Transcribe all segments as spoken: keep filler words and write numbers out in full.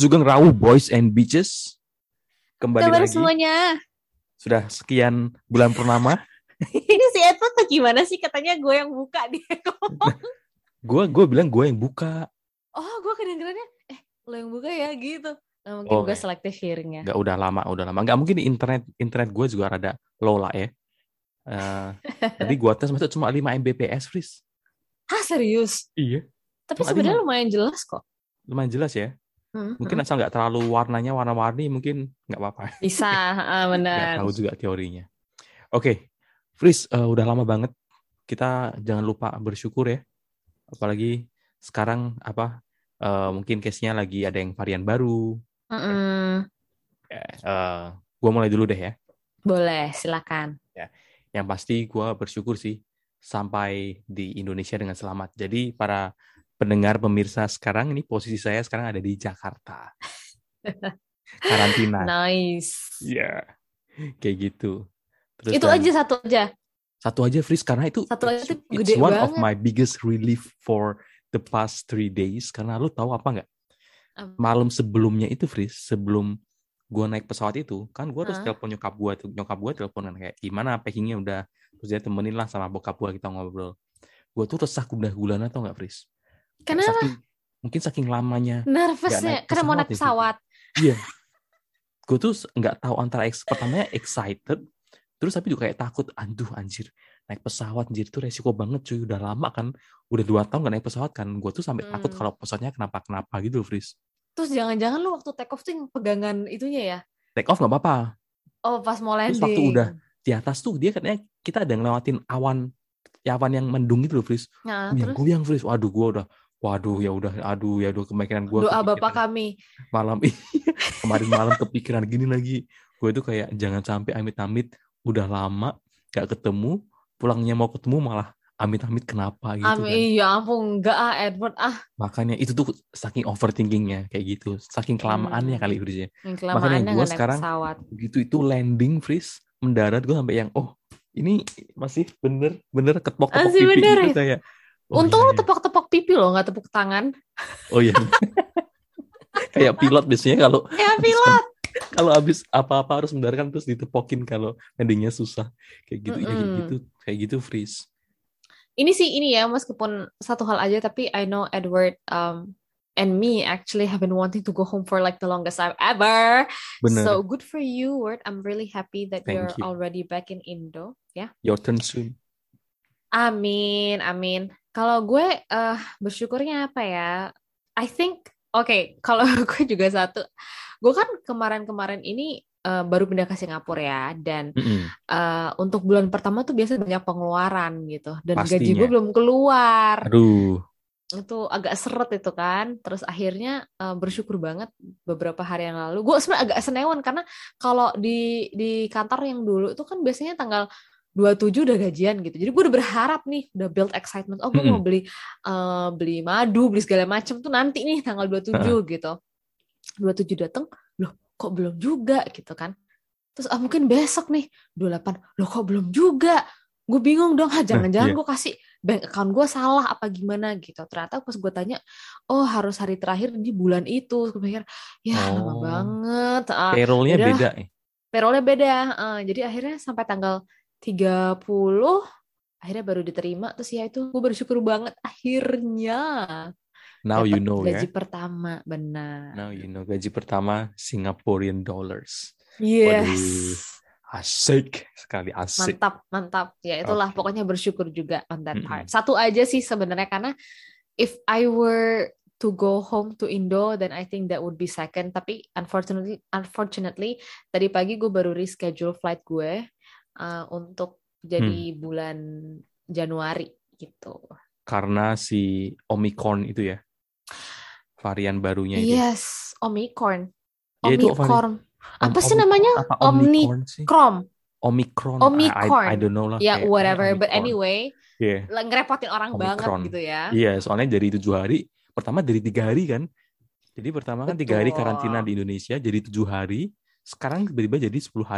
Sugeng Rawu Boys and Bitches. Kembali Kabar lagi. semuanya. Sudah sekian bulan purnama. Ini si Edward tuh gimana sih? Katanya gue yang buka dia ngomong. Gue gue bilang gue yang buka. Oh, gue kedengerannya eh lo yang buka ya gitu. Nah, mungkin Oh, gue selective hearing ya. Gak udah lama, udah lama. Gak mungkin di internet internet gue juga rada low lah ya. Uh, tadi gue tes masuk cuma lima megabits, Fris. Hah, serius? Iya. Tapi Cuma sebenarnya lima. lumayan jelas kok. Lumayan jelas ya. Hmm, Mungkin hmm. asal nggak terlalu warnanya warna-warni, mungkin nggak apa-apa. Bisa, uh, benar. Nggak tahu juga teorinya. Oke, okay. Fris, uh, udah lama banget. Kita jangan lupa bersyukur ya. Apalagi sekarang apa? Uh, mungkin case-nya lagi ada yang varian baru. Mm-mm. Uh, gue mulai dulu deh ya. Boleh, silakan. Ya, yang pasti gue bersyukur sih sampai di Indonesia dengan selamat. Jadi para pendengar pemirsa sekarang ini posisi saya sekarang ada di Jakarta. Karantina. Nice. Iya, yeah. Kayak gitu. Terus itu dan, aja satu aja. Satu aja, Fris, karena itu satu aja itu it's gede one banget. of my biggest relief for the past three days. Karena lu tahu apa nggak? Um. Malam sebelumnya itu, Fris, sebelum gue naik pesawat itu, kan gue terus huh? telepon nyokap gue tuh, nyokap gue teleponan kayak gimana packingnya udah, terus dia temenin lah sama bokap gue kita ngobrol. Gue tuh resah gundah gulana tau nggak, Fris? Kenapa? Saking, mungkin saking lamanya. Nervousnya karena mau naik pesawat. Iya. Gue tuh nggak tahu antara ex, pertamanya excited, terus tapi juga kayak takut. Aduh anjir, naik pesawat anjir itu resiko banget cuy. Udah lama kan, udah dua tahun gak naik pesawat kan. Gue tuh sampai hmm. takut kalau pesawatnya kenapa-kenapa gitu, Fris. Terus jangan-jangan lu waktu take off tuh yang pegangan itunya ya? Take off nggak apa-apa. Oh, pas mau landing. Terus waktu udah di atas tuh dia katanya kita ada ngelewatin awan, ya awan yang mendung gitu loh, Fris. Nah, goyang-goyang, Fris. Waduh, gue udah, waduh ya udah, aduh ya udah kemungkinan gue. Doa bapak kami. Malam kemarin malam kepikiran gini lagi. Gue itu kayak jangan sampai amit-amit udah lama gak ketemu, pulangnya mau ketemu malah amit-amit kenapa gitu Amin, kan. Iya ampun, enggak ah Edward ah. Makanya itu tuh saking overthinkingnya kayak gitu, saking kelamaannya hmm. kali Fris ya. Makanya gue sekarang pesawat. begitu itu landing, Fris, mendarat gue sampai yang oh ini masih bener-bener ketepok-tepok pipi bener, gitu kayak. Oh, untung iya, lo tepok-tepok pipi lo, nggak tepuk tangan. Oh iya. Kayak pilot biasanya kalau. Kayak pilot. Kalau habis apa-apa harus mendaratkan terus ditepokin kalau landingnya susah. Kayak gitu, mm-hmm. ya, kayak gitu, kayak gitu, Fris. Ini sih ini ya, meskipun satu hal aja, tapi I know Edward um, and me actually have been wanting to go home for like the longest time ever. Bener. So good for you, Word. I'm really happy that Thank you're you. already back in Indo. Ya. Yeah? Your turn soon. Amin, amin. Kalau gue uh, bersyukurnya apa ya? I think, oke, okay, kalau gue juga satu. Gue kan kemarin-kemarin ini uh, baru pindah ke Singapura ya, dan mm-hmm. uh, untuk bulan pertama tuh biasa banyak pengeluaran gitu, dan Pastinya. gaji gue belum keluar. Aduh. Itu agak seret itu kan. Terus akhirnya uh, bersyukur banget beberapa hari yang lalu. Gue sebenarnya agak senewan karena kalau di di kantor yang dulu itu kan biasanya tanggal dua puluh tujuh udah gajian gitu. Jadi gue udah berharap nih, udah build excitement. Oh, gue mm-hmm. mau beli uh, beli madu, beli segala macam tuh nanti nih tanggal dua puluh tujuh uh-huh. gitu. dua puluh tujuh datang, loh kok belum juga gitu kan. Terus ah mungkin besok nih dua puluh delapan, loh kok belum juga. Gue bingung dong, ha, jangan-jangan nah, gue kasih bank account gue salah apa gimana gitu. Ternyata pas gue tanya, oh harus hari terakhir di bulan itu. Gue pikir, ya oh, lama banget. Uh, payroll-nya udah, beda. Payroll-nya beda. Uh, jadi akhirnya sampai tanggal tiga puluh, akhirnya baru diterima. Terus ya itu gue bersyukur banget akhirnya. Now you know gaji ya. pertama, benar. Now you know gaji pertama Singaporean dollars. Yes. Waduh, asik sekali, asik. Mantap, mantap. Ya itulah okay. Pokoknya bersyukur juga on that part. Mm-hmm. Satu aja sih sebenarnya, karena if I were to go home to Indo, then I think that would be second. Tapi unfortunately, unfortunately tadi pagi gue baru reschedule flight gue uh, untuk jadi hmm. bulan Januari gitu. Karena si Omicron itu ya. Varian barunya itu. Yes, Omicron. Ya, Omicron. Apa sih namanya? Omicron. Omicron. Omicron. I, I don't know lah. Ya, yeah, whatever. Omicron. But anyway, yeah. ngerepotin orang Omicron. Banget gitu ya. Iya, yeah, soalnya dari tujuh hari. Pertama dari tiga hari kan. Jadi pertama kan tiga hari karantina di Indonesia. Jadi tujuh hari. Sekarang tiba-tiba jadi sepuluh hari.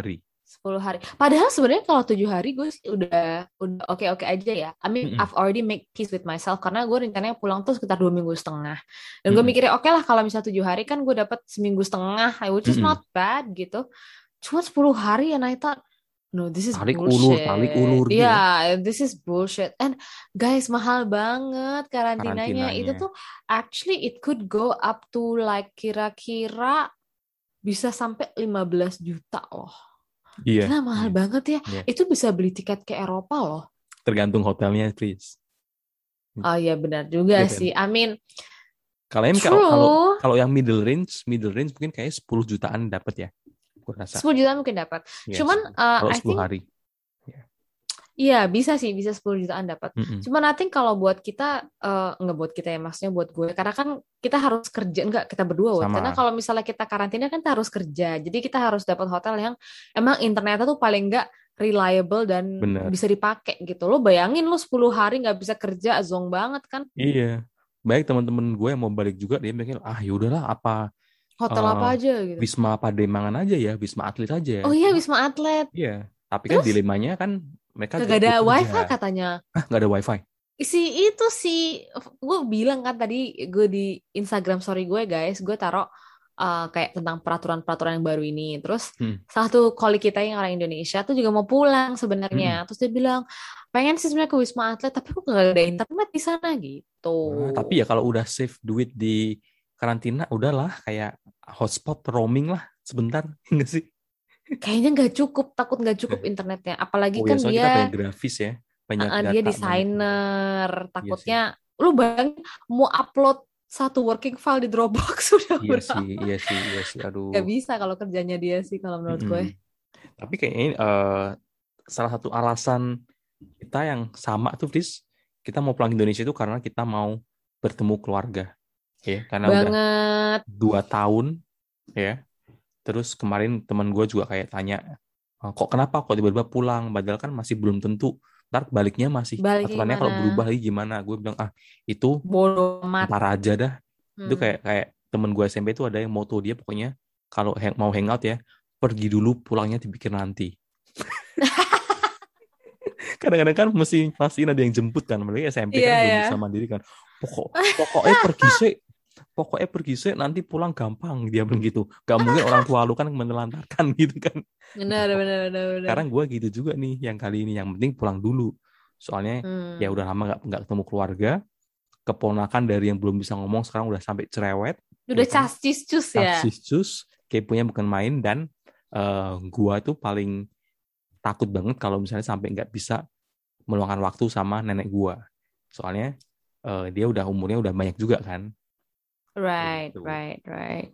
sepuluh hari. Padahal sebenarnya kalau tujuh hari gue sih udah udah oke-oke aja ya. I mean, Mm-mm. I've already make peace with myself karena gue rencananya pulang tuh sekitar dua minggu setengah. Dan gue Mm-mm. mikirnya oke lah kalau misalnya tujuh hari kan gue dapat seminggu setengah, which is Mm-mm. not bad gitu. Cuma sepuluh hari and I thought, no, this is Tarik ulur, tarik bullshit. ulur gitu ya Yeah, this is bullshit. And guys, mahal banget karantinanya. Itu karantinanya. tuh actually it could go up to like kira-kira bisa sampai lima belas juta loh. Iya, Gila mahal iya, banget ya. iya. Itu bisa beli tiket ke Eropa loh. Tergantung hotelnya, please. Oh iya benar juga Iya kan? sih. I mean, Kalau yang kalau kalau true. kalau yang middle range, middle range mungkin kayak sepuluh jutaan dapat ya. Gue rasa. sepuluh juta mungkin dapat. Iya, Cuman sepuluh. uh, Kalau I sepuluh think hari. Iya. iya bisa sih, bisa sepuluh jutaan dapat. Mm-mm. Cuman I think kalau buat kita uh, nggak buat kita ya, maksudnya buat gue karena kan kita harus kerja, enggak kita berdua Wot. Karena Sama. kalau misalnya kita karantina kan kita harus kerja. Jadi kita harus dapat hotel yang emang internetnya tuh paling nggak reliable dan Bener. bisa dipakai gitu. Lo bayangin lo sepuluh hari nggak bisa kerja, zong banget kan. Iya. Baik teman-teman gue yang mau balik juga dia mikir ah yaudahlah apa Hotel eh, apa aja gitu. Wisma Pademangan aja ya, Wisma Atlet aja ya. Oh iya, Cuma, Wisma Atlet. iya. Tapi kan Terus dilemanya kan mereka gak ada bekerja. wifi katanya. Ah nggak ada wifi. Si itu si gue bilang kan tadi gue di Instagram story gue guys, gue taruh uh, kayak tentang peraturan-peraturan yang baru ini. Terus Hmm. salah satu kolik kita yang orang Indonesia tuh juga mau pulang sebenarnya. Hmm. Terus dia bilang pengen sih sebenarnya ke Wisma Atlet, tapi kok gak ada internet di sana gitu. Nah, tapi ya kalau udah save duit di karantina, udahlah kayak hotspot roaming lah sebentar, enggak sih? Kayaknya nggak cukup, takut nggak cukup internetnya. Apalagi Oh ya, kan soalnya kita dia banyak grafis ya, banyak Uh, data, dia banyak. desainer, Iya sih. takutnya lu bayangin mau upload satu working file di Dropbox sudah Iya berapa? sih, iya sih, iya sih. Aduh. Gak bisa kalau kerjanya dia sih kalau menurut gue. Mm-mm. Tapi kayaknya eh, salah satu alasan kita yang sama tuh, Fris, kita mau pulang ke Indonesia itu karena kita mau bertemu keluarga, ya. Karena udah Banget. dua tahun, ya. Terus kemarin teman gue juga kayak tanya, "Eh, kok kenapa kok tiba-tiba pulang? Padahal kan masih belum tentu. Ntar baliknya masih Baliknya aturannya kalau gimana? berubah lagi gimana?" Gue bilang ah itu Bodoh amat. ntar aja dah. Itu Hmm. kayak kayak temen gue S M P itu ada yang moto dia pokoknya kalau hang- mau hangout ya pergi dulu, pulangnya dipikir nanti. Kadang-kadang kan mesti pastiin ada yang jemput kan, apalagi S M P Iya kan belum ya. bisa mandiri kan. Pokok pokoknya pergi sih, pokoknya pergi sih nanti pulang gampang dia bilang gitu. Gak mungkin orang tua lu kan menelantarkan gitu kan. Benar, benar, benar, benar. Sekarang gue gitu juga nih yang kali ini, yang penting pulang dulu. Soalnya Hmm. ya udah lama nggak nggak ketemu keluarga, keponakan dari yang belum bisa ngomong sekarang udah sampai cerewet. Udah Ya kan? cascis-cus ya. Cascis-cus, keponya bukan main. Dan uh, gua tuh paling takut banget kalau misalnya sampai nggak bisa meluangkan waktu sama nenek gua. Soalnya uh, dia udah umurnya udah banyak juga kan. Right, Gitu. right, right.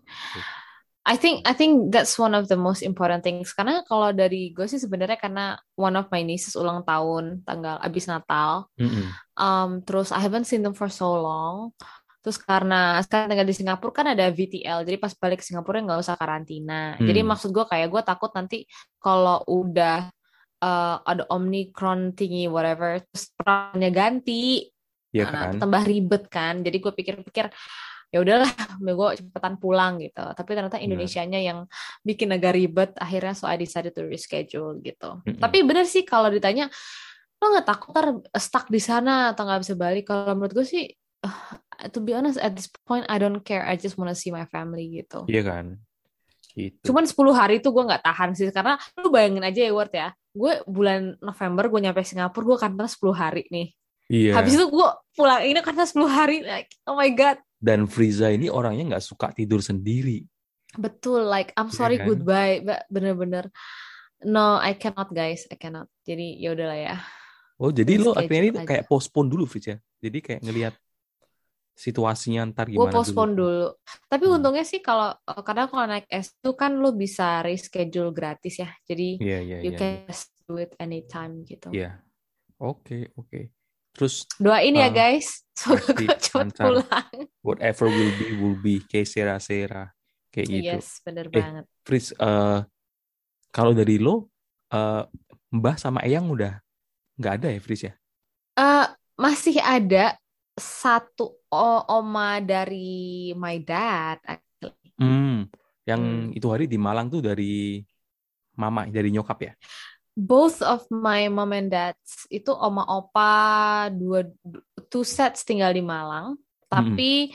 I think I think that's one of the most important things. Karena kalau dari gue sih sebenarnya karena one of my nieces ulang tahun tanggal abis Natal. Mm-mm. Um, terus I haven't seen them for so long. Terus karena sekarang tinggal di Singapura kan ada V T L, jadi pas balik ke Singapura nggak usah karantina. Hmm. Jadi maksud gue kayak gue takut nanti kalau udah uh, ada Omicron thingy whatever, terus perannya ganti, Iya nah, kan? tambah ribet kan. Jadi gue pikir-pikir ya udahlah, gue cepetan pulang gitu. Tapi ternyata Indonesianya yang bikin agak ribet. Akhirnya so I decided to reschedule gitu. Mm-mm. Tapi bener sih kalau ditanya lo nggak takut ntar stuck di sana atau nggak bisa balik? Kalau menurut gue sih, uh, to be honest at this point I don't care. I just wanna see my family gitu. Iya kan? Gitu. Cuman sepuluh hari itu gue nggak tahan sih, karena lu bayangin aja ya Ward ya, gue bulan November gue nyampe Singapura, gue karena sepuluh hari nih. Iya. Habis itu gue pulang ini karena sepuluh hari, like oh my god. Dan Friza ini orangnya nggak suka tidur sendiri. Betul, like I'm sorry Iya kan? goodbye, bener-bener no I cannot guys, I cannot. Jadi ya udahlah ya. Oh jadi lo Reschedule akhirnya ini aja. kayak postpone dulu Friza. Jadi kayak ngelihat situasinya ntar Gue gimana postpone dulu. dulu. Tapi Hmm. untungnya sih kalau kadang kalau naik S itu kan lo bisa reschedule gratis ya. Jadi Iya iya you iya. can just do it anytime gitu. Iya. Oke oke. Terus Doain ya uh, guys, semoga pasti gue cepet lancar. pulang. Whatever will be will be. Kayak sera-sera kayak gitu. Yes, bener Eh, banget. Fris, uh, kalau dari lo, uh, Mbah sama Eyang udah nggak ada ya, Fris ya? Uh, masih ada satu o- oma dari my dad. Actually. Hmm, yang Hmm. itu hari di Malang tuh dari mama dari nyokap ya? Both of my mom and dads itu oma opa dua two sets tinggal di Malang, Mm-mm. tapi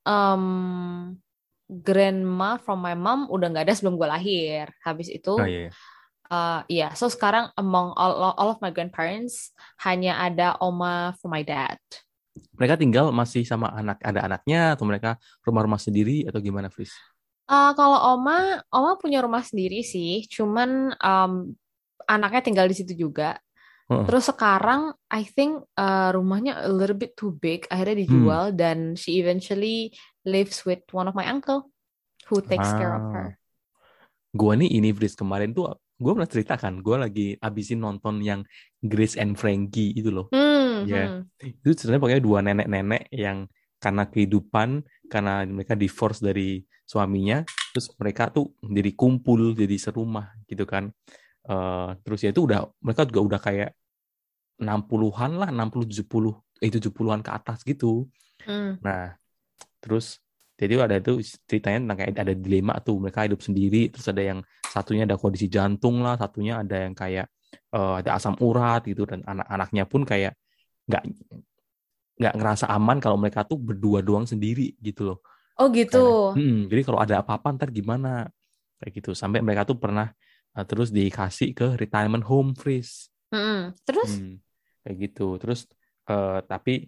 um, grandma from my mom udah nggak ada sebelum gue lahir. Habis Oh itu, iya, iya. uh, iya, so sekarang among all all of my grandparents hanya ada oma for my dad. Mereka tinggal masih sama anak, ada anaknya atau mereka rumah-rumah sendiri atau gimana, Fris? Uh, kalau oma, oma punya rumah sendiri sih, cuman um, anaknya tinggal di situ juga. Heeh. Terus sekarang I think uh, rumahnya a little bit too big, akhirnya Hmm. dijual dan she eventually lives with one of my uncle who takes care of Ah, her. gua nih ini Fris kemarin tuh gua pernah ceritakan, gua lagi abisin nonton yang Grace and Frankie itu loh. Hmm, Ya, hmm. itu sebenarnya pokoknya dua nenek-nenek yang karena kehidupan, karena mereka divorce dari suaminya, terus mereka tuh jadi kumpul, jadi serumah gitu kan. Eh, terus ya itu udah, mereka juga udah kayak enam puluhan lah, enam puluh tujuh puluh, eh tujuh puluhan ke atas gitu. Hmm. Nah, terus jadi ada itu ceritanya tentang kayak ada dilema tuh, mereka hidup sendiri, terus ada yang satunya ada kondisi jantung lah, satunya ada yang kayak eh, ada asam urat gitu, dan anak-anaknya pun kayak nggak nggak ngerasa aman kalau mereka tuh berdua doang sendiri gitu loh. Oh gitu. Karena, hmm, jadi kalau ada apa-apa ntar gimana kayak gitu. Sampai mereka tuh pernah uh, terus dikasih ke retirement home, Freeze. Hmm. Terus Hmm, kayak gitu. Terus uh, tapi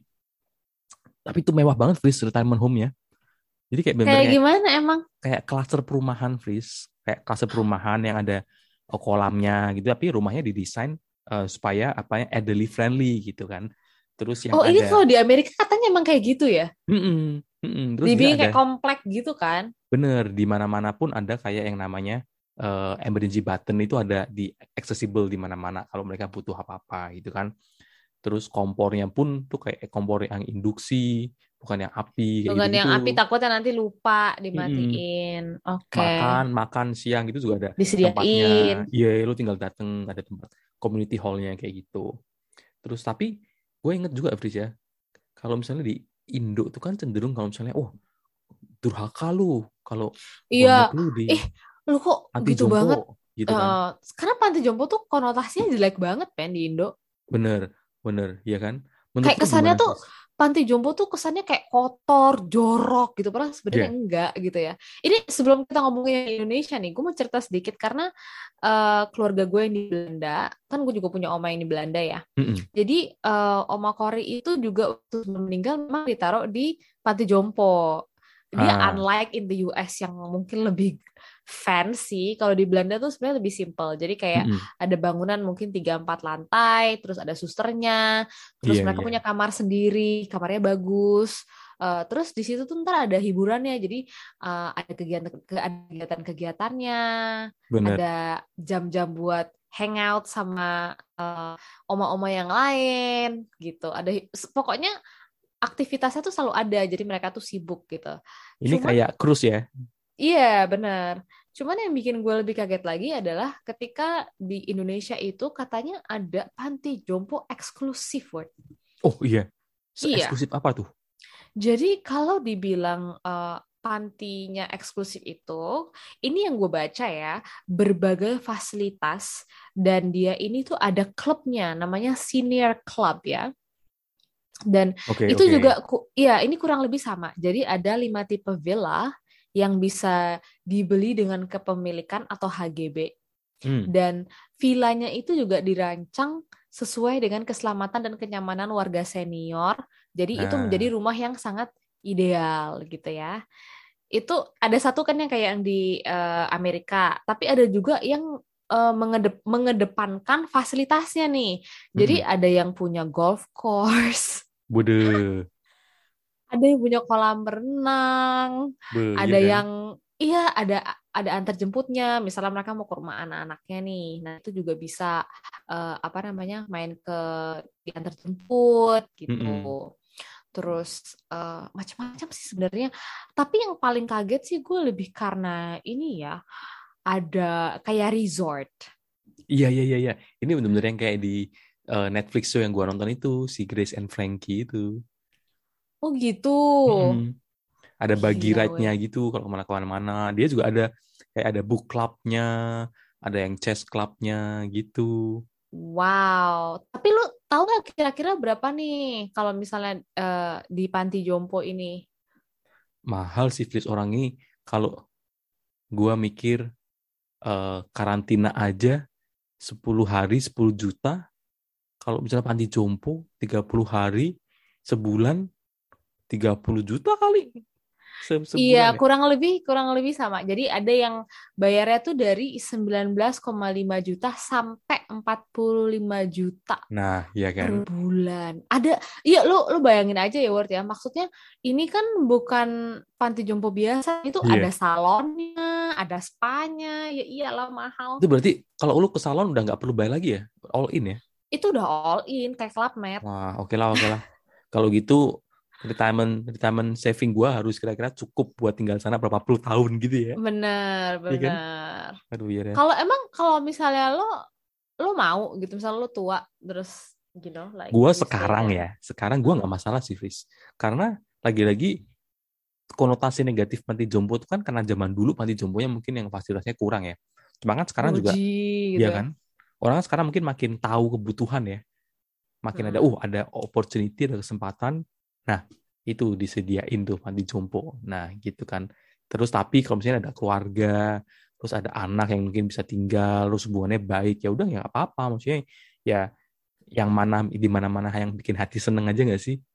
tapi itu mewah banget, Freeze, retirement home-nya. Jadi kayak bener-bener kayak kayak gimana emang? kayak klaster perumahan, Freeze. Kayak klaster perumahan yang ada uh, kolamnya gitu, tapi rumahnya didesain uh, supaya apa ya elderly friendly gitu kan. Terus yang Oh ini ada, kalau di Amerika katanya emang kayak gitu ya? mm-mm, mm-mm. Terus dia Dibikin ada kayak komplek gitu kan? bener, di mana-mana pun ada kayak yang namanya eh, emergency button itu ada di accessible di mana-mana kalau mereka butuh apa-apa gitu kan. Terus kompornya pun tuh kayak kompor yang induksi, bukan yang api kayak Bukan gitu-gitu. yang api takutnya nanti lupa Mm-mm. dimatiin. Oke. Makan, makan siang itu juga ada tempatnya. Disediain. Iya, lu tinggal dateng, ada tempat community hall-nya kayak gitu. Terus tapi gue inget juga, Fris ya, kalau misalnya di Indo tuh kan cenderung kalau misalnya, oh durhaka lu kalau Iya. bonyok lu di Eh, lu kok anti gitu jompo banget? gitu kan. Eh, karena panti jompo tuh konotasinya jelek banget kan di Indo. Bener, bener, ya kan? Menurut Kayak lu kesannya gimana, tuh Fris? panti jompo tuh kesannya kayak kotor, jorok gitu. Padahal sebenarnya Iya. enggak gitu ya. Ini sebelum kita ngomongin Indonesia nih, gue mau cerita sedikit karena eh, keluarga gue yang di Belanda, kan gue juga punya oma yang di Belanda ya. Mm-mm. Jadi eh, oma Kori itu juga waktu sebelum meninggal memang ditaruh di panti jompo. Dia Ah, unlike in the U S yang mungkin lebih fancy. Kalau di Belanda tuh sebenarnya lebih simple. Jadi kayak mm-mm. ada bangunan mungkin tiga empat lantai, terus ada susternya, terus Iya, mereka iya, punya kamar sendiri, kamarnya bagus. Eh, terus di situ tuh ntar ada hiburannya, jadi eh, ada kegiatan ada kegiatan-kegiatannya, bener. ada jam-jam buat hangout sama eh, oma-oma yang lain gitu. Ada pokoknya aktivitasnya tuh selalu ada, jadi mereka tuh sibuk gitu. Ini Cuman kayak cruise ya? iya benar. Cuman yang bikin gue lebih kaget lagi adalah ketika di Indonesia itu katanya ada panti jompo eksklusif, word. Oh iya, Iya. se-eksklusif apa tuh? Jadi kalau dibilang eh, pantinya eksklusif itu, ini yang gue baca ya, berbagai fasilitas dan dia ini tuh ada klubnya, namanya senior club ya. Dan Oke, itu oke. juga, ku- ya ini kurang lebih sama. Jadi ada lima tipe villa yang bisa dibeli dengan kepemilikan atau H G B. Hmm. Dan villanya itu juga dirancang sesuai dengan keselamatan dan kenyamanan warga senior. Jadi itu Nah, menjadi rumah yang sangat ideal gitu ya. Itu ada satu kan yang kayak yang di eh, Amerika, tapi ada juga yang eh, mengedep- mengedepankan fasilitasnya nih. Jadi mm-mm. ada yang punya golf course, Bude, ada yang punya kolam renang, be, iya ada kan? yang iya ada ada antar jemputnya. Misalnya mereka mau ke rumah anak-anaknya nih, nah itu juga bisa eh, apa namanya main ke diantar jemput gitu. Mm-mm. Terus eh, macam-macam sih sebenarnya. Tapi yang paling kaget sih gue lebih karena ini ya ada kayak resort. Iya, iya, iya, iya. Ini bener-bener yang kayak di eh, Netflix show yang gua nonton itu, si Grace and Frankie itu. Oh gitu. Mm-mm. Ada buggy Gila ride-nya weh. gitu kalau kemana-mana. Dia juga ada kayak ada book club-nya, ada yang chess clubnya gitu. Wow, tapi lu tahu nggak kira-kira berapa nih kalau misalnya uh, di panti jompo ini? Mahal sih Flis orang ini. Kalau gua mikir uh, karantina aja sepuluh hari sepuluh juta. Kalau misalnya panti jompo tiga puluh hari sebulan tiga puluh juta kali se Iya, sebulan ya. kurang lebih kurang lebih sama. Jadi ada yang bayarnya tuh dari sembilan belas koma lima juta sampai empat puluh lima juta Nah, iya kan? per bulan. Ada, iya lu lu bayangin aja ya Word ya. Maksudnya ini kan bukan panti jompo biasa, itu Iya. ada salonnya, ada spanya. Ya iyalah mahal. Itu berarti kalau lu ke salon udah nggak perlu bayar lagi ya? All in ya? Itu udah all in kayak Club Med. Wah, oke lah, oke lah. Kalau gitu retirement retirement saving gua harus kira-kira cukup buat tinggal sana berapa puluh tahun gitu ya. Bener, Iya kan? bener. Aduh, iya ya. Kalau emang kalau misalnya lo lo mau gitu, misalnya lo tua terus you know like Gua you stay sekarang there. ya, sekarang gua nggak Mm-mm. masalah sih, Fris. Karena lagi-lagi konotasi negatif panti jompo itu kan karena zaman dulu panti jomponya mungkin yang fasilitasnya kurang ya. Cuma kan sekarang juga, Boji gitu ya ya. kan? Orang kan sekarang mungkin makin tahu kebutuhan ya. Makin ada, Mm-mm. uh ada opportunity, ada kesempatan. Nah, itu disediain tuh panti jompo. Nah, gitu kan. Terus tapi kalau misalnya ada keluarga, terus ada anak yang mungkin bisa tinggal, terus hubungannya baik, ya udah ya nggak apa-apa. Maksudnya ya yang mana di mana-mana yang bikin hati seneng aja nggak sih?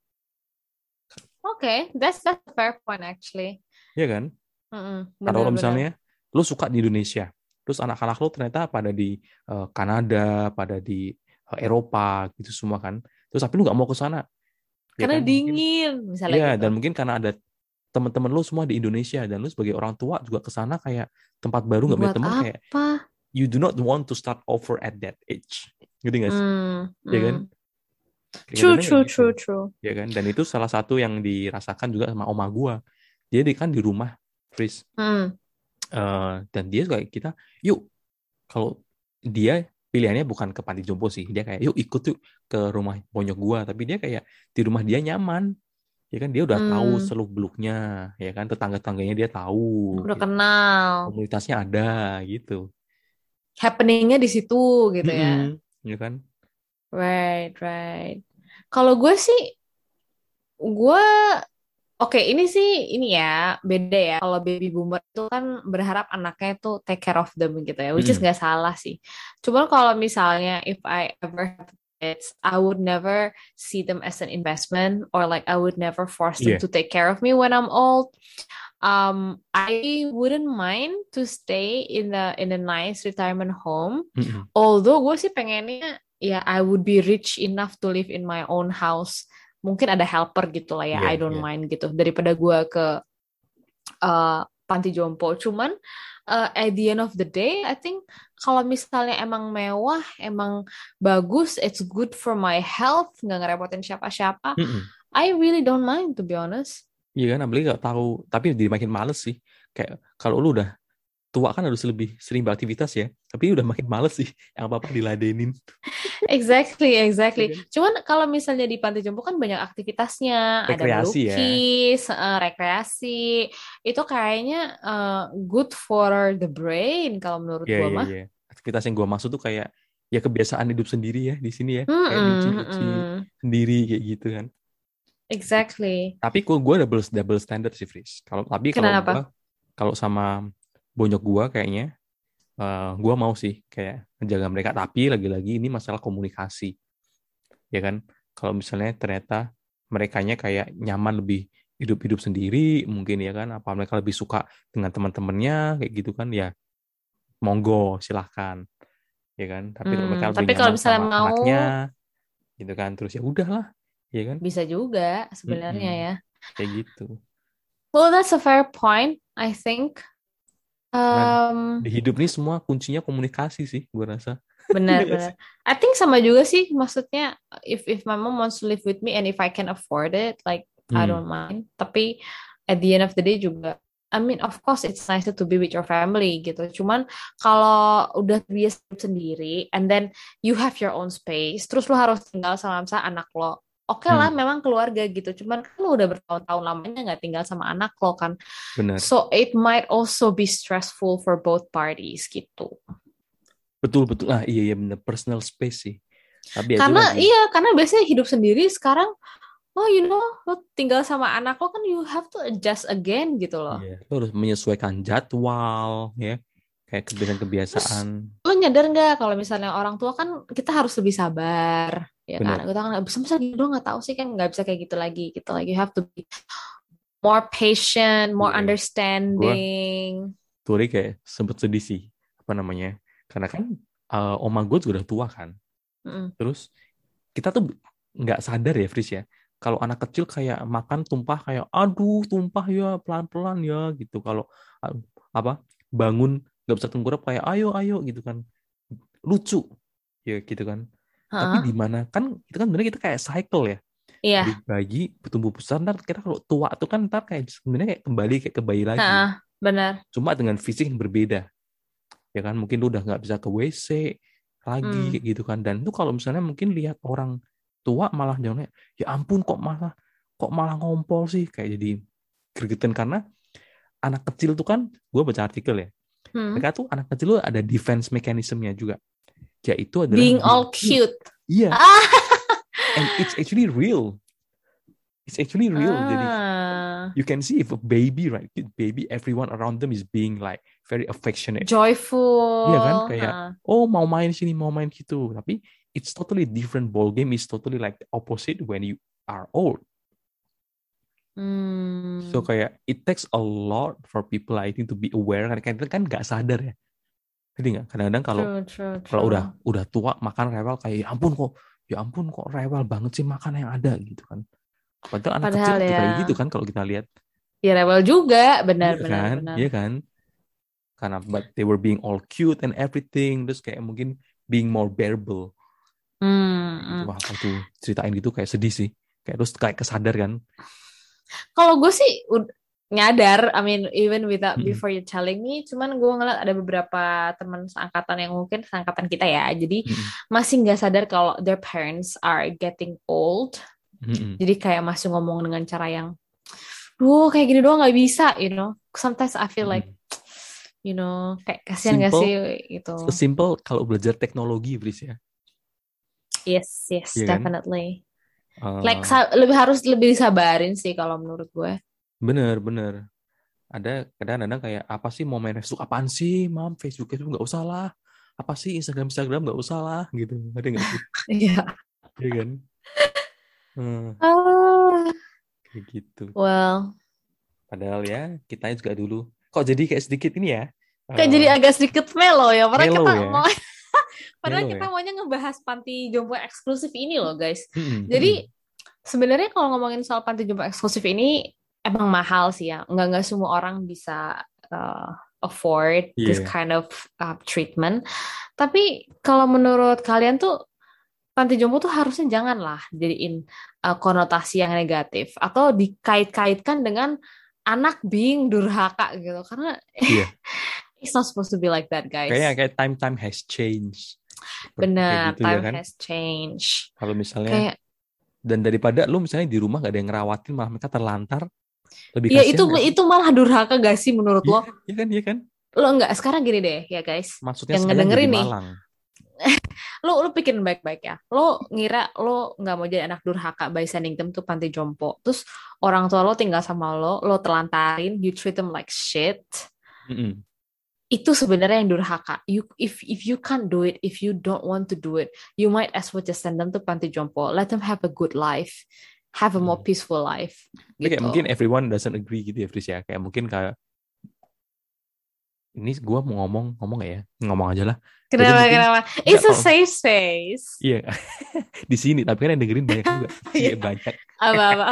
Oke, okay, that's that's a fair point actually. Iya kan? Mm-mm. Kalau Bener-bener. misalnya lu suka di Indonesia, terus anak-anak lu ternyata pada di uh, Kanada, pada di uh, Eropa gitu semua kan. Terus tapi lu nggak mau ke sana, ya Karena kan? Mungkin dingin misalnya iya, gitu. dan mungkin karena ada teman-teman lu semua di Indonesia dan lu sebagai orang tua juga ke sana kayak tempat baru nggak punya Buat teman kayak apa? you do not want to start over at that age. Gitu nggak sih? Hmm, Ya kan? hmm. True, Kelihatannya kayak true, gitu. true, true. Ya kan? Dan itu salah satu yang dirasakan juga sama oma gua. Jadi kan di rumah, Fris. Hmm. Uh, dan dia kayak kita, yuk kalau dia pilihannya bukan ke panti jompo sih, dia kayak yuk ikut yuk ke rumah bonyok gua, tapi dia kayak di rumah dia nyaman, ya kan dia udah tahu Hmm. seluk beluknya, ya kan tetangga-tangganya dia tahu, Udah gitu. kenal. Komunitasnya ada gitu. Happeningnya di situ gitu ya. Mm-mm, ya kan? Right, right. Kalau gue sih, gue oke ini sih ini ya beda ya. Kalau baby boomer itu kan berharap anaknya itu take care of them gitu ya, which is Mm-mm. nggak salah sih. Cuman kalau misalnya if I ever have kids, I would never see them as an investment or like I would never force them Iya. to take care of me when I'm old. Um, I wouldn't mind to stay in the in a nice retirement home. Mm-mm. Although gue sih pengennya ya I would be rich enough to live in my own house. Mungkin ada helper gitu lah ya, Iya, I don't iya. mind gitu. Daripada gue ke uh, panti jompo. Cuman uh, at the end of the day, I think kalau misalnya emang mewah, emang bagus, it's good for my health, nggak ngerepotin siapa-siapa. Mm-mm. I really don't mind to be honest. Iya kan, apalagi nggak tahu, tapi jadi makin males sih. Kayak kalau lu udah tua kan harus lebih sering beraktivitas ya, tapi udah makin males sih, yang apa-apa diladenin. Exactly, Iya exactly. kan? Cuman kalau misalnya di panti jompo kan banyak aktivitasnya, ada Rekreasi ya. melukis, eh, rekreasi. Itu kayaknya eh, good for the brain kalau menurut Iya, gua iya, mah. iya. Aktivitas yang gua maksud tuh kayak ya kebiasaan hidup sendiri ya di sini ya. Kayak Mm-mm, nyuci-nyuci mm-mm. sendiri kayak gitu kan. Exactly. Tapi kok gue double double standard sih, Fris. Kalau tapi kalau gue Kenapa? kalau sama bonyok gue kayaknya uh, gue mau sih kayak menjaga mereka. Tapi lagi-lagi ini masalah komunikasi, ya kan? Kalau misalnya ternyata merekanya kayak nyaman lebih hidup-hidup sendiri, mungkin ya kan? Apa mereka lebih suka dengan teman-temannya kayak gitu kan? Ya monggo silahkan, ya kan? Tapi kalau mereka Hmm, lebih tapi kalau nyaman misalnya sama mau, anaknya, gitu kan? Terus ya udahlah, ya kan? bisa juga sebenarnya Mm-mm. ya. Kayak gitu. Well, that's a fair point, I think. Karena Um, di hidup ini semua kuncinya komunikasi sih, gue rasa. Iya gak Benar-benar. sih? I think sama juga sih, maksudnya if if my mom wants to live with me and if I can afford it, like I Hmm, don't mind. Tapi at the end of the day juga, I mean of course it's nicer to be with your family gitu. Cuman kalau udah biasa sendiri and then you have your own space, terus lu harus tinggal sama misalnya anak lo. Oke lah, hmm, memang keluarga gitu. Cuman kan lu udah bertahun-tahun lamanya nggak tinggal sama anak lo kan. benar. So it might also be stressful for both parties gitu. Betul betul. Ah iya iya bener, personal space sih. Tapi ya itu Karena lagi. iya, karena biasanya hidup sendiri sekarang, oh you know, lo tinggal sama anak lo kan you have to adjust again gitu loh. Iya, lo harus menyesuaikan jadwal ya, kayak Terus kebiasaan-kebiasaan. lo nyadar nggak kalau misalnya orang tua kan kita harus lebih sabar, ya kan? Bener. Kita kan nggak bisa, bisa gitu nggak tahu sih kan nggak bisa kayak gitu lagi, gitu lagi. You have to be more patient, more Iya. Gue understanding. tuh hari kayak sempet sedih sih, apa namanya? Karena kan eh, oma gue juga udah tua kan. Mm-mm. Terus kita tuh nggak sadar ya, Fris ya. Kalau anak kecil kayak makan tumpah kayak, aduh tumpah ya pelan-pelan ya gitu. Kalau uh, apa bangun nggak bisa tengkurap kayak ayo ayo gitu kan. Lucu ya gitu kan. Tapi di Hah? mana kan itu kan sebenarnya kita kayak cycle ya. Dari Iya, bayi bertumbuh besar ntar kita kalau tua tuh kan ntar kayak sebenarnya kayak kembali kayak ke bayi lagi. Hah, benar. Cuma dengan fisik yang berbeda. Ya kan mungkin lu udah nggak bisa ke W C lagi Hmm. kayak gitu kan. Dan itu kalau misalnya mungkin lihat orang tua malah jangan ya ampun kok malah kok malah ngompol sih kayak jadi gregetan karena anak kecil tuh kan gue baca artikel ya Hmm. mereka tuh anak kecil tuh ada defense mechanismnya juga yaitu adalah Being being all cute. cute. Iya, Ah. and it's actually real. It's actually real. Jadi Ah. you can see if a baby, right? Baby, everyone around them is being like very affectionate. Iya kan? Joyful. Kayak, Hah. oh mau main sini, mau main gitu. Tapi it's totally different ball game. It's totally like the opposite when you are old. So Hmm. kayak it takes a lot for people I think to be aware. Karena kita kan nggak sadar ya. Jadi nggak? Kadang-kadang kalau True, true, kalau udah true. udah tua makan rewel kayak ya ampun kok, ya ampun kok rewel banget sih makan yang ada gitu kan. Padahal anak kecil Padahal juga ya, kayak gitu kan kalau kita lihat. ya rebel juga, benar, Iya benar, kan? benar. Iya kan? Karena but they were being all cute and everything. Terus kayak mungkin being more bearable. Hmm. Kayak gitu Hmm. wah waktu ceritain gitu kayak sedih sih kayak terus kayak kesadar kan. Kalau gue sih ud- nyadar, I mean even without Mm-mm. before you telling me, cuman gue ngeliat ada beberapa teman seangkatan yang mungkin seangkatan kita ya, jadi Mm-mm. masih nggak sadar kalau their parents are getting old. Mm-mm. Jadi kayak masih ngomong dengan cara yang, duh kayak gini doang nggak bisa, you know. Sometimes I feel like, Mm-mm. you know, kayak kasihan gak Simple sih gitu. sesimpel kalau belajar teknologi Bris ya. Yes, yes, Iya kan. definitely. Like Eh, sa- lebih harus lebih disabarin sih kalau menurut gue. bener bener ada kadang-kadang kayak apa sih mau main Facebook apaan sih mam Facebook itu nggak usah lah apa sih Instagram Instagram nggak usah lah gitu ada nggak sih Iya. iya kan. Hmm, Ah, kayak gitu well, padahal ya kita juga dulu kok jadi kayak sedikit ini ya kayak eh jadi agak sedikit melo ya. Padahal kita mellow ya mau, padahal mellow kita ya. maunya ngebahas panti jompo eksklusif ini loh, guys. Mm-mm, mm-mm. Jadi sebenarnya kalau ngomongin soal panti jompo eksklusif ini emang mahal sih ya. Nggak nggak semua orang bisa uh, afford this Iya. kind of uh, treatment. Tapi kalau menurut kalian tuh panti jompo tuh harusnya janganlah jadiin uh, konotasi yang negatif atau dikait-kaitkan dengan anak being durhaka gitu. Karena Iya. it's not supposed to be like that, Kayaknya guys. kayak time time has changed seperti kayak Benar, gitu ya time kan has changed. kalau misalnya Kayak, dan daripada lu misalnya di rumah gak ada yang ngerawatin malah mereka terlantar lebih ya itu kasihan gak sih. itu malah durhaka gak sih menurut Iya lo? iya kan iya kan Lo nggak, sekarang gini deh ya guys, maksudnya yang saya jadi ngedengerin nih, malang. lo lo pikirin baik-baik ya. Lo ngira lo nggak mau jadi anak durhaka by sending them to panti jompo. Terus orang tua lo tinggal sama lo, lo telantarin, you treat them like shit. Mm-mm. Itu sebenarnya yang durhaka. You if if you can't do it, if you don't want to do it, you might as well just send them to panti jompo. Let them have a good life, have a more Mm. peaceful life, Tapi kayak gitu. mungkin everyone doesn't agree gitu ya Fris ya kayak mungkin kayak ini gue mau ngomong ngomong gak ya ngomong aja lah jadi Kenapa mungkin kenapa? nggak It's a kalau safe space. iya di sini tapi kan yang dengerin banyak juga Iya. iya banyak Apa-apa.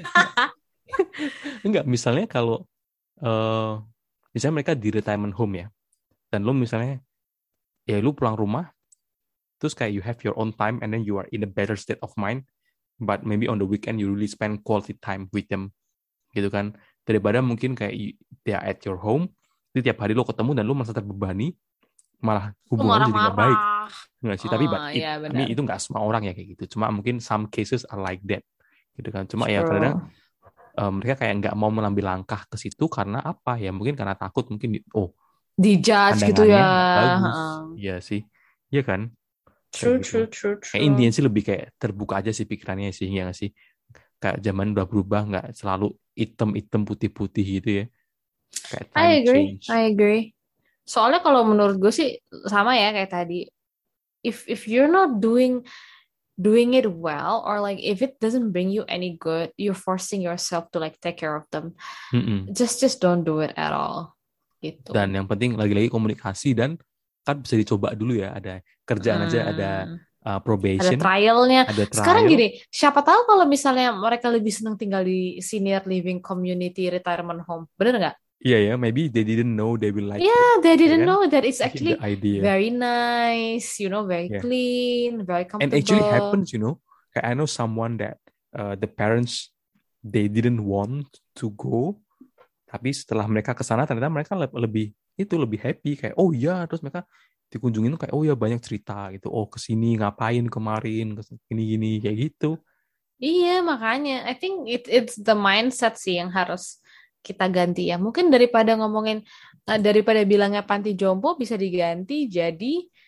enggak misalnya kalau eh misalnya mereka di retirement home ya dan lu misalnya ya lu pulang rumah terus kayak you have your own time and then you are in a better state of mind but maybe on the weekend you really spend quality time with them gitu kan daripada mungkin kayak you- they are at your home jadi tiap hari lo ketemu dan lo merasa terbebani malah Lu hubungan lo jadi nggak baik marah-marah. nggak sih tapi but Oh, it, ya I mean, benar. itu nggak semua orang ya kayak gitu cuma mungkin some cases are like that gitu kan cuma ya kadang True. eh, mereka kayak nggak mau mengambil langkah ke situ karena apa ya mungkin karena takut mungkin di- oh Dijudge gitu pandangannya ya. nggak bagus Heeh. iya sih Iya kan? Kayak True, gitu. true, true, Kayak intinya true. sih lebih kayak terbuka aja sih pikirannya sih, ya nggak sih? Kayak zaman udah berubah, nggak selalu hitam-hitam putih-putih gitu ya. Kayak time I agree, change. I agree. Soalnya kalau menurut gue sih sama ya kayak tadi. If if you're not doing doing it well, or like if it doesn't bring you any good, you're forcing yourself to like take care of them. Mm-mm. Just just don't do it at all. Dan Gitu. yang penting lagi-lagi komunikasi, dan kan bisa dicoba dulu ya. Ada kerjaan aja, ada Hmm. uh, Ada probation, trialnya. ada Sekarang trial. gini, siapa tahu kalau misalnya mereka lebih senang tinggal di senior living community retirement home. Bener nggak? Iya ya, maybe they didn't know they will like it, Yeah, they ya didn't kan? know that it's The actually idea, very nice, you know, very yeah. clean, very And actually comfortable. happens, you know. Kayak I know someone that uh, the parents they didn't want to go, tapi setelah mereka ke sana ternyata mereka le- lebih itu lebih happy, kayak oh iya, terus mereka dikunjungin tuh kayak oh ya banyak cerita gitu, oh kesini ngapain kemarin, kesini gini kayak gitu. Iya, makanya I think it it's the mindset sih yang harus kita ganti ya. Mungkin daripada ngomongin eh, daripada bilangnya panti jompo bisa diganti jadi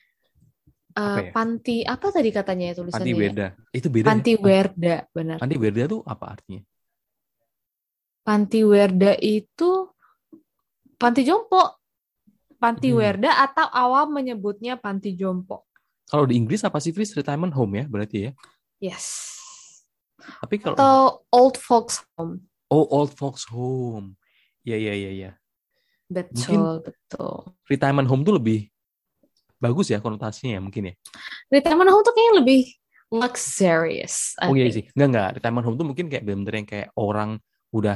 eh, Apa ya? panti apa tadi katanya ya Panti tulisannya ya? Werda. Itu beda ya. Panti Pan- Werda, benar. Panti Werda tuh apa artinya? Panti Werda itu panti jompo, panti Hmm. Werda atau awam menyebutnya panti jompo. Kalau di Inggris apa sih, Fris? Retirement home ya berarti ya. Yes. Tapi kalau Atau old folks home. oh, old folks home. Iya iya iya iya. Mungkin Betul, betul. retirement home tuh lebih bagus ya konotasinya ya mungkin ya. Retirement home tuh kayaknya lebih luxurious, Oh I iya sih. think. Enggak enggak. Retirement home tuh mungkin kayak bener-bener yang kayak orang udah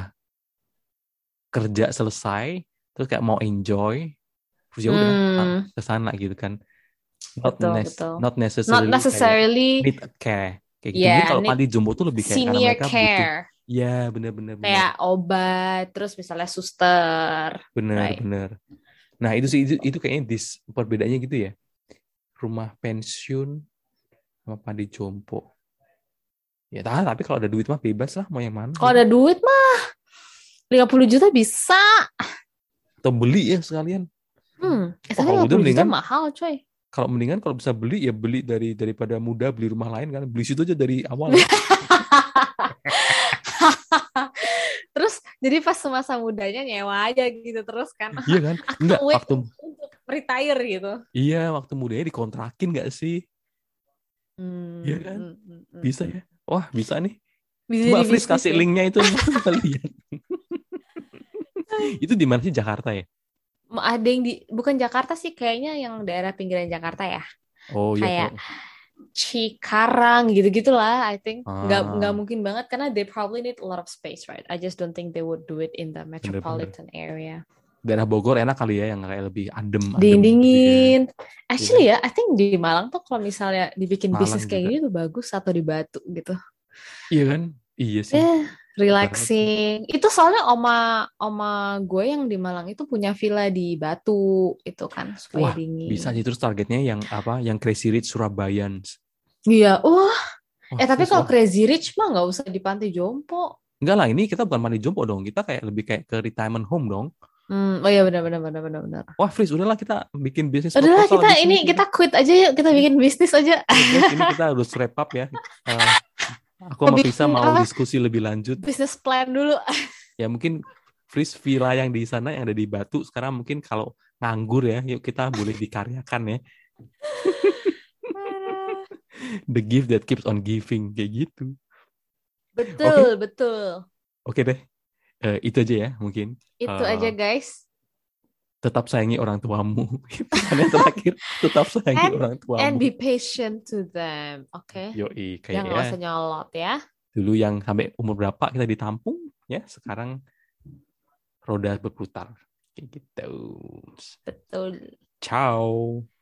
kerja selesai terus kayak mau enjoy terus ya udah ah, Hmm, ke sana gitu kan. Not betul, nes betul. not Not necessarily kayak necessarily, need a care kayak gitu. Mungkin ya, kalau need panti jompo tuh lebih kayak karena senior mereka butuh, care. ya bener-bener bener Kayak obat, terus misalnya suster, bener right? bener. Nah itu sih itu, itu kayaknya dis perbedaannya gitu ya. Rumah pensiun sama panti jompo. Ya tahu, tapi kalau ada duit mah bebas lah mau yang mana Kalau gitu. ada duit mah lima puluh juta bisa. Atau beli ya sekalian. Hmm, eh, Oh tapi kalau lima udah puluh juta mendingan, mahal, coy. kalau mendingan kalau bisa beli ya beli dari daripada muda beli rumah lain kan. Beli situ aja dari awal ya. Terus jadi pas masa mudanya nyewa aja gitu terus kan. Iya kan? I Enggak, can't wait waktu untuk retire gitu. iya waktu mudanya dikontrakin nggak sih? Iya Hmm, kan? hmm, hmm, hmm, Bisa hmm. ya? Wah bisa nih. Bisa Coba jadi Fris bisnis kasih ya. linknya itu kita lihat. Itu di mana sih, Jakarta ya? Ada yang di bukan Jakarta sih kayaknya yang daerah pinggiran Jakarta ya. Oh ya Kayak kalau Cikarang gitu-gitulah I think. Nggak nggak ah mungkin banget karena they probably need a lot of space, right? I just don't think they would do it in the bener-bener. metropolitan area. Daerah Bogor enak kali ya yang kayak lebih adem adem gitu ya. Dingin. Iya kan? Actually ya, I think di Malang tuh kalau misalnya dibikin bisnis Malang kayak juga. gini tuh bagus atau di Batu gitu. Iya kan? Iya sih. Eh, Banget sih. relaxing. Itu soalnya oma oma gue yang di Malang itu punya villa di Batu itu kan supaya Wah, bisa dingin. sih terus targetnya yang apa? Yang Crazy Rich Surabayans. Iya, wah. Wah, Eh tapi terus kalau wah. Crazy Rich mah nggak usah di Panti Jompo. Enggak lah, ini kita bukan mandi jompo dong. Kita kayak lebih kayak ke retirement home dong. Hmm, oh iya benar benar benar benar benar. Wah, Fris, udahlah kita bikin bisnis Udahlah proposal kita habis ini ini kita kayaknya. quit aja yuk, kita Ya. bikin bisnis aja. Oke, guys, ini kita harus wrap up ya. Eh, aku sama Frisa Bikin mau apa? diskusi lebih lanjut. Bisnis plan dulu. Ya mungkin Fris villa yang di sana yang ada di Batu sekarang mungkin kalau nganggur ya, yuk kita boleh dikaryakan ya. The gift that keeps on giving kayak gitu. Oke, Betul, betul. oke deh. Eh, itu aja ya mungkin. Itu Eh, aja guys. tetap sayangi orang tuamu. Pesan yang terakhir, tetap sayangi And orang and tuamu. be patient to them, oke? Okay? Yoi, kayak Jangan ya nggak usah nyolot ya. dulu yang sampai umur berapa kita ditampung ya, sekarang roda berputar kayak gitu. Betul. Ciao.